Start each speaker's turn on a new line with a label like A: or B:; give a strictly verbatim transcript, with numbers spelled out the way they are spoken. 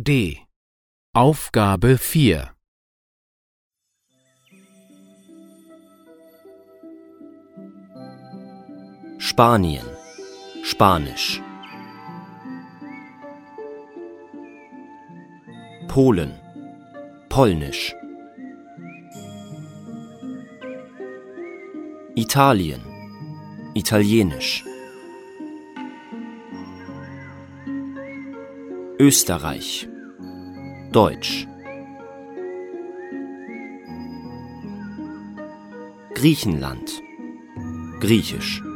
A: D. Aufgabe vier.
B: Spanien, Spanisch. Polen, Polnisch. Italien, Italienisch. Österreich, Deutsch. Griechenland, Griechisch.